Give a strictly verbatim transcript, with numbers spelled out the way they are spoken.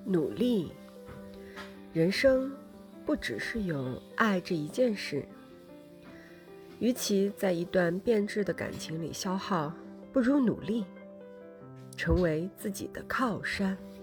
努力。人生不只是有爱这一件事，与其在一段变质的感情里消耗，不如努力，成为自己的靠山。